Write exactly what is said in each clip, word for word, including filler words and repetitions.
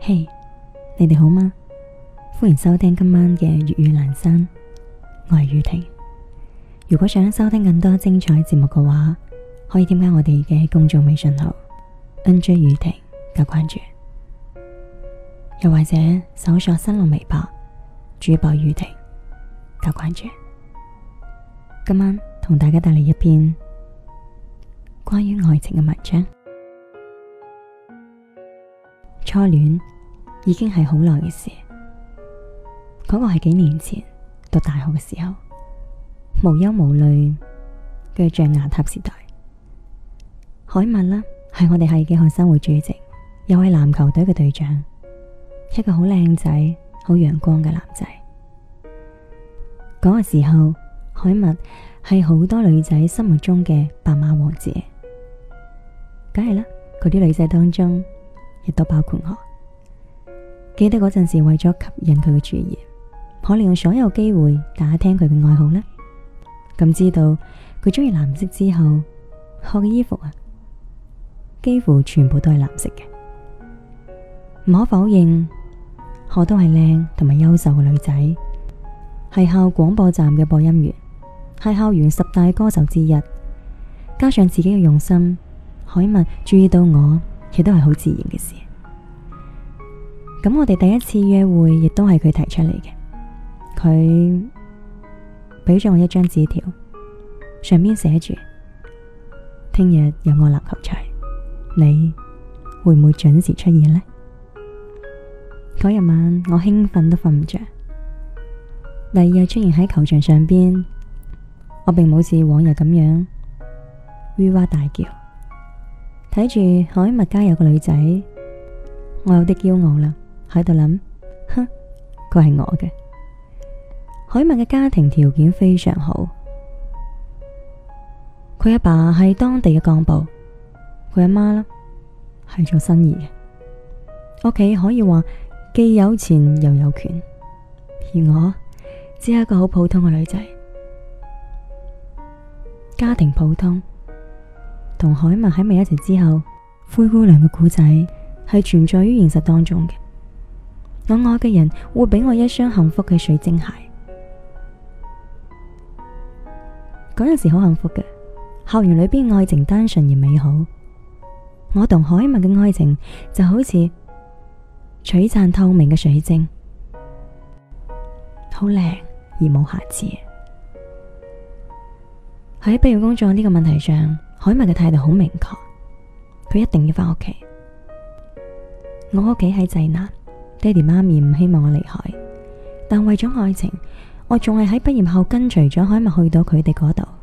嘿，hey，你哋好嗎？歡迎收聽今晚嘅粵語闌珊，我係宇婷。如果想收聽更多精彩節目嘅話，可以添加我哋嘅公眾微信號 N J 宇婷加關注，又或者搜索新浪微博主播宇婷加關注。今晚同大家帶嚟一篇關於愛情嘅文章。初戀已經係好耐嘅事，嗰個係幾年前讀大學嘅時候，無憂無慮嘅象牙塔時代。海默啦，係我哋系嘅學生會主席，又係籃球隊嘅隊長，一個好靚仔、好陽光嘅男仔。嗰個時候，海默係好多女仔心目中嘅白馬王子，梗係啦，嗰啲女仔當中亦都包括我。記得嗰陣時，為咗吸引佢嘅注意，我利用所有機會打聽佢嘅愛好呢。咁知道佢中意藍色之後，我嘅衣服啊，幾乎全部都係藍色嘅。唔可否認，我都係靚同埋優秀嘅女仔，係校廣播站嘅播音員，係校園十大歌手之一。加上自己嘅用心，海默注意到我，亦都係好自然嘅事。咁我哋第一次約會亦都係佢提出嚟嘅。佢俾咗我一張紙條，上面寫住：聽日有我籃球賽，你會唔會準時出現呢？嗰日晚我興奮都瞓唔着。第二日出現喺球場上邊，我並冇似往日咁樣嗚哇大叫。睇住海默加油嘅女仔，我有啲驕傲啦，喺度諗，哼，佢係我嘅。海默嘅家庭條件非常好，佢阿爸係當地嘅幹部，佢阿媽啦係做生意嘅，屋企可以話既有錢又有權，而我只係一個好普通嘅女仔，家庭普通。同海默喺埋一齊之後，灰姑娘嘅故仔係存在於現實當中嘅。我愛嘅人會俾我一雙幸福嘅水晶鞋。嗰陣時好幸福嘅，校園裏邊愛情單純而美好。我同海默嘅愛情就好似璀璨透明嘅水晶，好靚而冇瑕疵。喺畢業工作呢個問題上，海默嘅態度好明確，佢一定要返屋企。我屋企喺濟南，爹哋媽咪唔希望我離開，但為咗愛情，我仲係喺畢業後跟隨咗海默去到佢哋嗰度。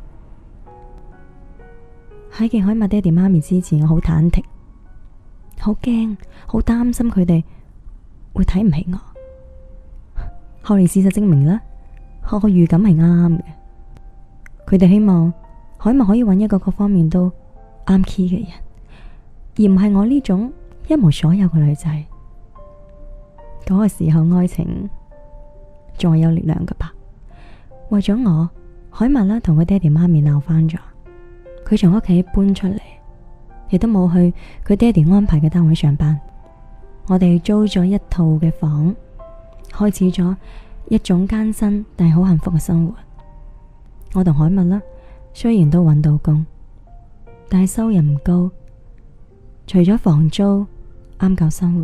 喺見海默爹哋媽咪之前，我好忐忑，好驚，好擔心佢哋會睇唔起我。後嚟事實證明啦，我個預感係啱嘅，佢哋希望海默可以揾一個各方面都啱 key 嘅人，而唔係我呢種一無所有嘅女仔。嗰個時候愛情仲係有力量㗎吧。為咗我，海默啦同佢爹哋媽咪鬧翻咗，佢從屋企搬出嚟，亦都冇去佢爹哋安排嘅單位上班。我哋租咗一套嘅房，開始咗一種艱辛但係好幸福嘅生活。我同海默啦，雖然都揾到工，但係收入唔高，除咗房租啱夠生活。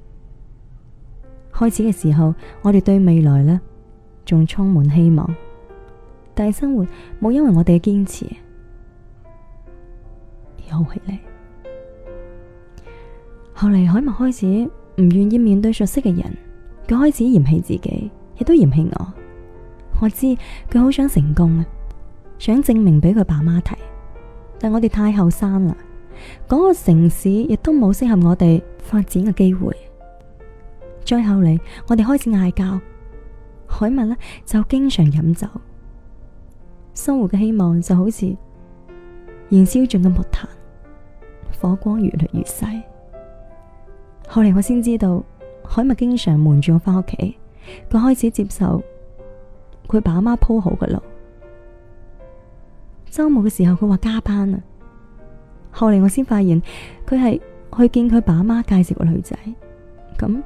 開始嘅時候，我哋對未來呢仲充滿希望，但係生活冇因為我哋嘅堅持而好起嚟。後嚟海默開始唔願意面對熟悉嘅人，佢開始嫌棄自己，亦都嫌棄我。我知佢好想成功啊，想證明俾佢爸媽睇，但我哋太後生啦，嗰個城市亦都冇適合我哋發展嘅機會。再後嚟，我哋開始嗌交，海默呢就經常飲酒，生活嘅希望就好似燃燒盡嘅木炭，火光越嚟越細。後嚟我先知道，海默經常瞞住我返屋企，佢開始接受佢爸媽鋪好嘅路。周末嘅時候，佢話加班啊。後嚟我先發現佢係去見佢爸媽介紹個女仔， 咁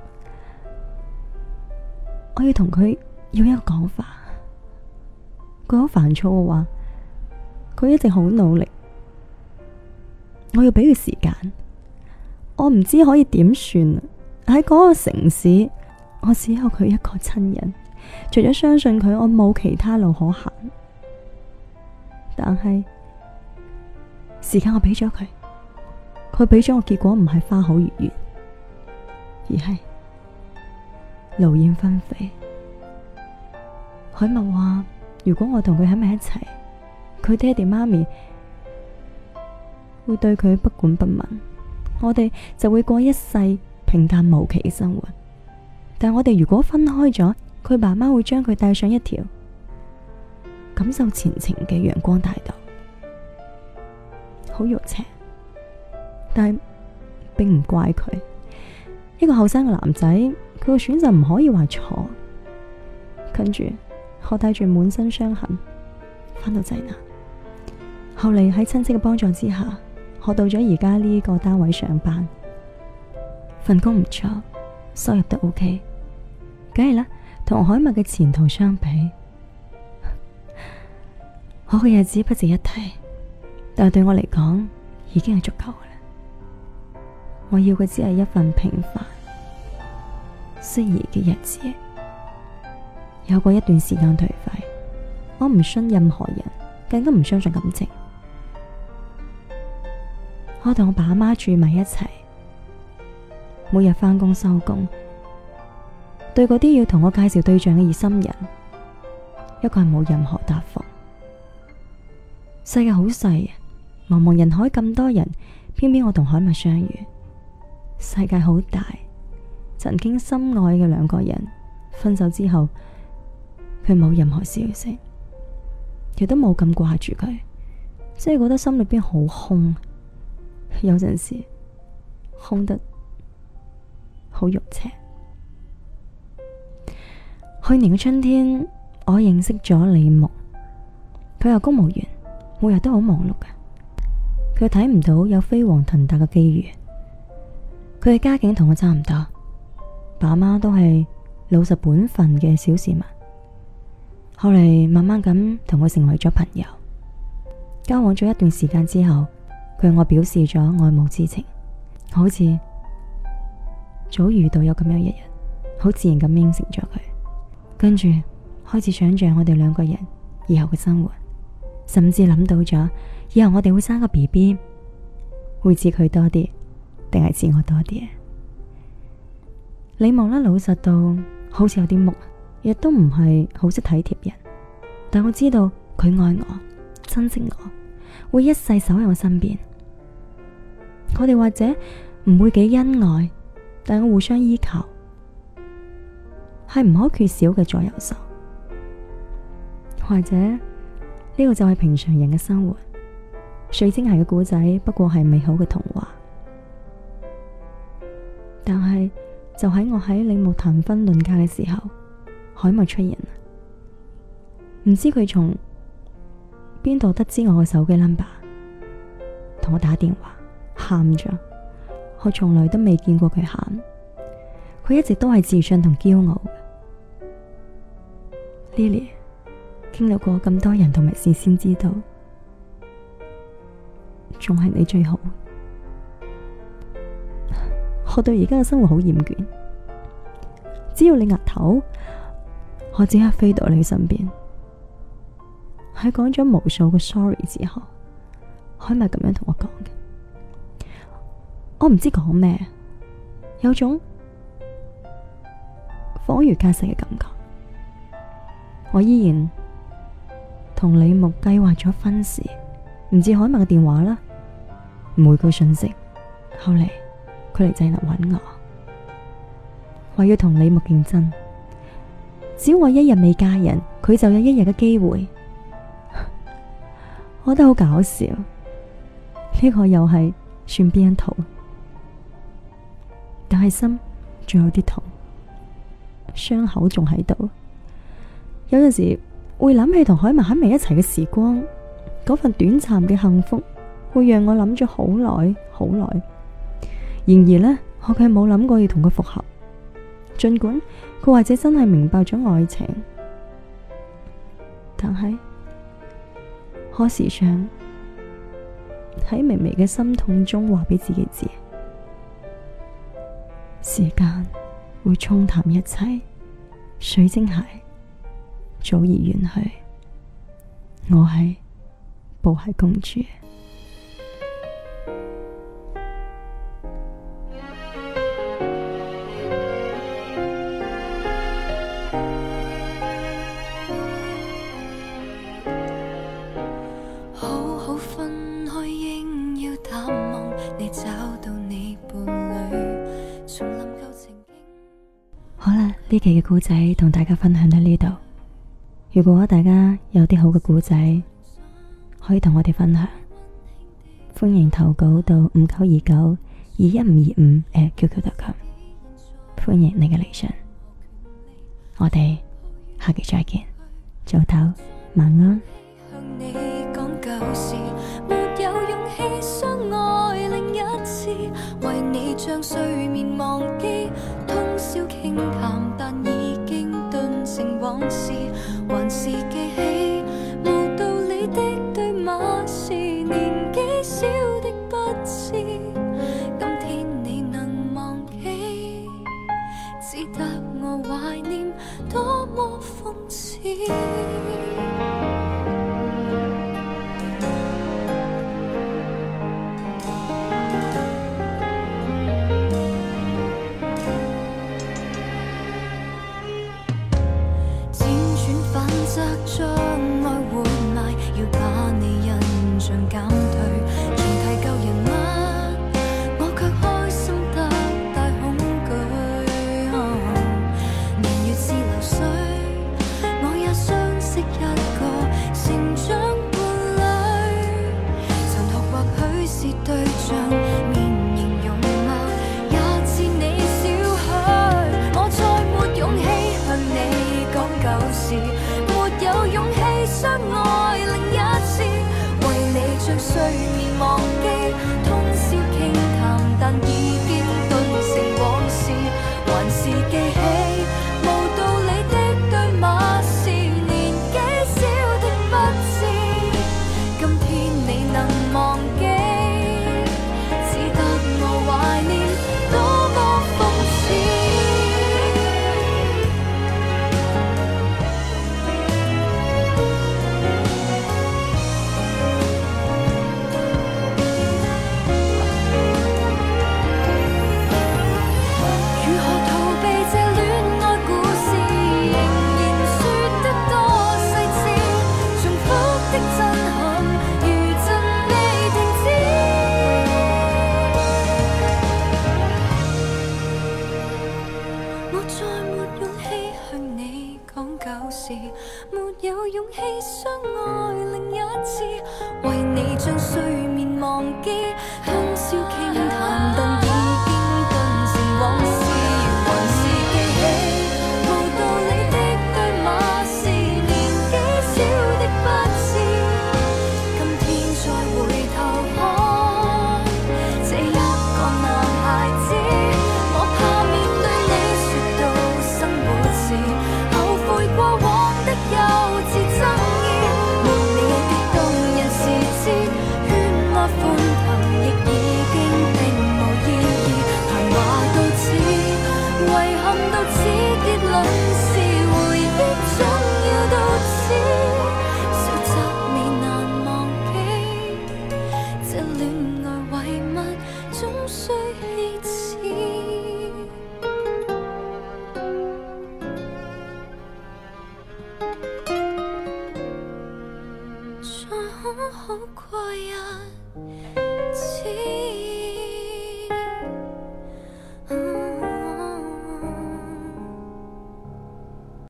我要同佢要一個講法。佢好煩躁嘅話，佢一直好努力，我要俾佢時間。我唔知可以點算啊！喺嗰個城市，我只有佢一個親人，除咗相信佢，我冇其他路可行。但係時間我俾咗佢，佢俾咗我，結果唔係花好月圓，而係勞燕分飛。海默話，如果我同佢喺埋一齊，佢爹哋媽咪會對佢不管不問，我哋就會過一世平淡無奇嘅生活。但我哋如果分開咗，佢爸媽會將佢帶上一條感受前程嘅陽光大道。好肉赤，但係並唔怪佢。一個後生嘅男仔，佢嘅選擇唔可以話錯。跟住我帶住滿身傷痕返到濟南，後嚟喺親戚嘅幫助之下，我到咗而家呢個單位上班，份工唔錯，收入都 OK， 梗係啦，同海默嘅前途相比，我嘅日子不值一提，但係對我嚟講已經係足夠嘅啦。我要嘅只係一份平凡適宜嘅日子。有過一段時間頹廢，我唔信任何人，更加唔相信感情。我同我爸媽住埋一齊，每日返工收工，對嗰啲要同我介紹對象嘅熱心人，一個係冇任何答覆。世界好細，茫茫人海咁多人，偏偏我同海默相遇。世界好大，曾經深愛嘅兩個人分手之後，佢冇任何消息，亦都冇咁掛住佢，即係覺得心裏邊好空，有陣時空得好肉赤。去年嘅春天，我認識咗李木，佢係公務員，每日都好忙碌嘅，佢睇唔到有飛黃騰達嘅機遇。佢嘅家境同我差唔多，爸媽都係老實本分嘅小市民。後嚟慢慢咁同佢成為咗朋友，交往咗一段時間之後，佢向我表示咗愛慕之情，好似早遇到有咁樣一日，好自然咁應承咗佢，跟住開始想象我哋兩個人以後嘅生活，甚至諗到咗以後我哋會生個 B B， 會似佢多啲定係似我多啲？李木呢，老實到好似有啲木，亦都唔係好識體貼人，但我知道佢愛我，珍惜我，會一世守喺我身邊。我哋或者唔會幾恩愛，但我互相依靠，係唔可缺少嘅左右手。或者呢個就係平常人嘅生活。水晶鞋嘅故仔不過係美好嘅童話，但係就喺我喺李木談婚論嫁嘅時候，海默出現，唔知佢從邊度得知我嘅手機 number， 同我打電話，喊咗。我從來都未見過佢喊，佢一直都係自信同驕傲嘅。Lily， 經歷過咁多人同埋事先知道，仲係你最好。我對而家嘅生活好厭倦，只要你額頭，我即刻飛到你身邊。喺講咗無數個 sorry 之後，海默咁樣同我講嘅，我唔知講咩，有種恍如隔世嘅感覺。我依然同李木計劃咗婚事，唔知海默嘅電話啦，每句信息。後嚟佢嚟濟南揾我，話要同李木競爭，只要我一日未嫁人，佢就有一日嘅機會。我覺得好搞笑，呢個又係算邊一套？但係心仲有啲痛，傷口仲喺度。有陣時會諗起同海默喺埋一齊嘅時光，嗰份短暫嘅幸福，會讓我諗咗好耐好耐。然而呢，我卻冇諗過要同佢復合， 盡管佢或者真係明白咗愛情，但係可時常喺微微嘅心痛中話俾自己知，時間會沖淡一切，水晶鞋早已遠去，我係布鞋公主。 好好分開，應要淡忘你，找到你伴侶，重臨舊情景。 好啦，呢期嘅故仔同大家分享到呢度。如果大家有啲好嘅故仔，可以同我哋分享，歡迎投稿到五九二九二一五二五 at Q Q 點 com， 歡迎你嘅嚟信。我哋下期再見，早唞，晚安。 向你講舊事，沒有勇氣相愛另一次，為你將睡眠忘記，通宵傾談，但已經頓成往事，還是記起無道理的對罵是年紀小的不知，今天你能忘記，只得我懷念，多麼諷刺。則將愛活埋，要把你印象減退，重提舊人物，我卻開心得大恐懼。哦、年月似流水，我也相識一個成長伴侶，殘酷或許是對象，面型容貌也似你少許，我再沒勇氣向你講舊事，有勇氣相愛另一次，為你將睡眠忘記，通宵傾談，但已經頓成往事，還是記起無道理的對罵是年紀小的不知，今天你能忘記，只得我懷念，多麼諷刺。沒有勇氣相愛另一次，為你將睡眠忘記，通宵傾談，但已經頓成往事，還是記起無道理的對罵是年紀小的不知，今天再回頭看這一個男孩子，我怕面對你說到生活時後悔過往幼稚爭議，無理的動人時節，喧譁歡騰亦已經並無意義，談話到此，遺憾到此，結論是回憶總要到此，小則未難忘記，這戀愛遺物總需棄置。再好好過日子。